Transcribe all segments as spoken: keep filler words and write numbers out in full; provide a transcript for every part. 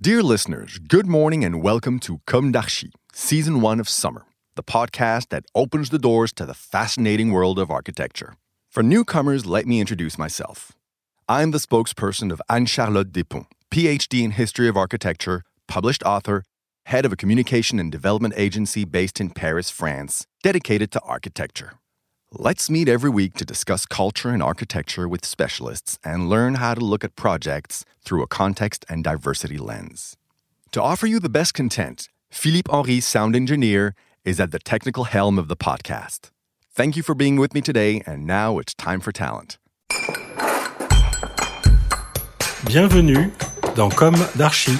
Dear listeners, good morning and welcome to Comme d'Archi, Season one of Summer, the podcast that opens the doors to the fascinating world of architecture. For newcomers, let me introduce myself. I'm the spokesperson of Anne-Charlotte Despont, P H D in History of Architecture, published author, head of a communication and development agency based in Paris, France, dedicated to architecture. Let's meet every week to discuss culture and architecture with specialists and learn how to look at projects through a context and diversity lens. To offer you the best content, Philippe Henry, sound engineer, is at the technical helm of the podcast. Thank you for being with me today, and now it's time for talent. Bienvenue dans Comme d'Archi.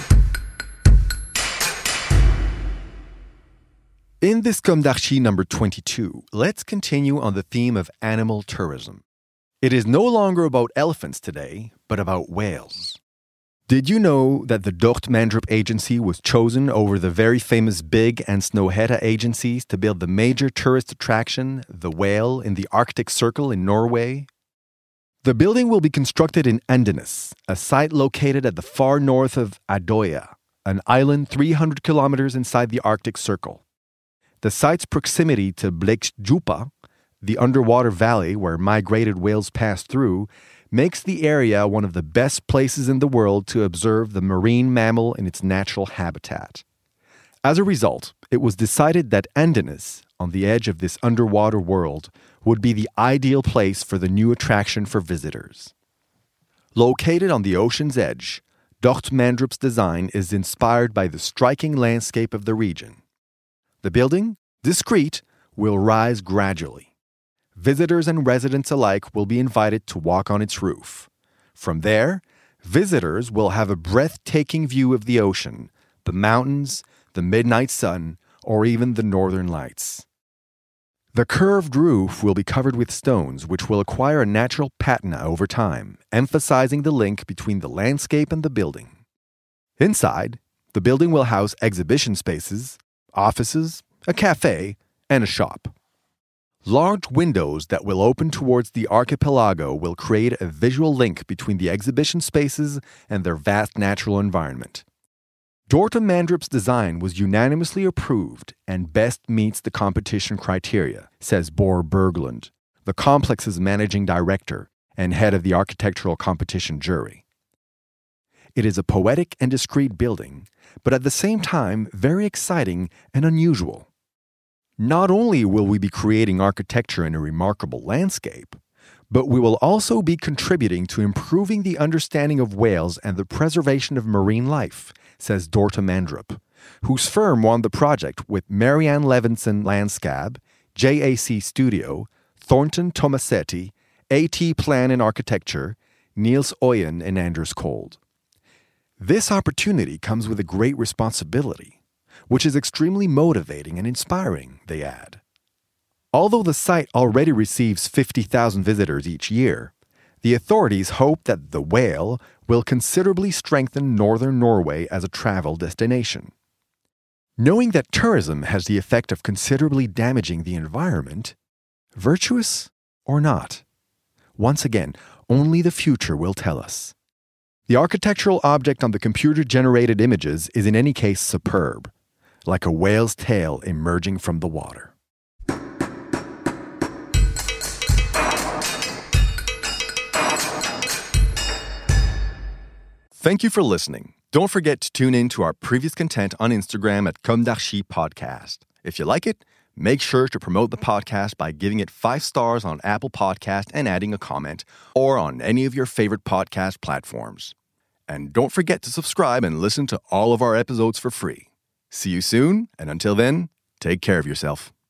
In this Comme d'Archi number twenty-two, let's continue on the theme of animal tourism. It is no longer about elephants today, but about whales. Did you know that the Dorte Mandrup Agency was chosen over the very famous Big and Snøhetta agencies to build the major tourist attraction, the whale, in the Arctic Circle in Norway? The building will be constructed in Andenes, a site located at the far north of Adoya, an island three hundred kilometers inside the Arctic Circle. The site's proximity to Bleikstjupa, the underwater valley where migrated whales pass through, makes the area one of the best places in the world to observe the marine mammal in its natural habitat. As a result, it was decided that Andenes, on the edge of this underwater world, would be the ideal place for the new attraction for visitors. Located on the ocean's edge, Dorte Mandrup's design is inspired by the striking landscape of the region. The building, discreet, will rise gradually. Visitors and residents alike will be invited to walk on its roof. From there, visitors will have a breathtaking view of the ocean, the mountains, the midnight sun, or even the northern lights. The curved roof will be covered with stones, which will acquire a natural patina over time, emphasizing the link between the landscape and the building. Inside, the building will house exhibition spaces, offices, a cafe, and a shop. Large windows that will open towards the archipelago will create a visual link between the exhibition spaces and their vast natural environment. Dorte Mandrup's design was unanimously approved and best meets the competition criteria, says Bor Berglund, the complex's managing director and head of the architectural competition jury. It is a poetic and discreet building, but at the same time very exciting and unusual. Not only will we be creating architecture in a remarkable landscape, but we will also be contributing to improving the understanding of whales and the preservation of marine life, says Dorte Mandrup, whose firm won the project with Marianne Levinson Landscab, J A C Studio, Thornton Tomasetti, AT Plan and Architecture, Niels Oyen, and Anders Kold. This opportunity comes with a great responsibility, which is extremely motivating and inspiring, they add. Although the site already receives fifty thousand visitors each year, the authorities hope that the whale will considerably strengthen northern Norway as a travel destination. Knowing that tourism has the effect of considerably damaging the environment, virtuous or not? Once again, only the future will tell us. The architectural object on the computer-generated images is in any case superb, like a whale's tail emerging from the water. Thank you for listening. Don't forget to tune in to our previous content on Instagram at Comme d'Archi Podcast. If you like it, make sure to promote the podcast by giving it five stars on Apple Podcast and adding a comment, or on any of your favorite podcast platforms. And don't forget to subscribe and listen to all of our episodes for free. See you soon, and until then, take care of yourself.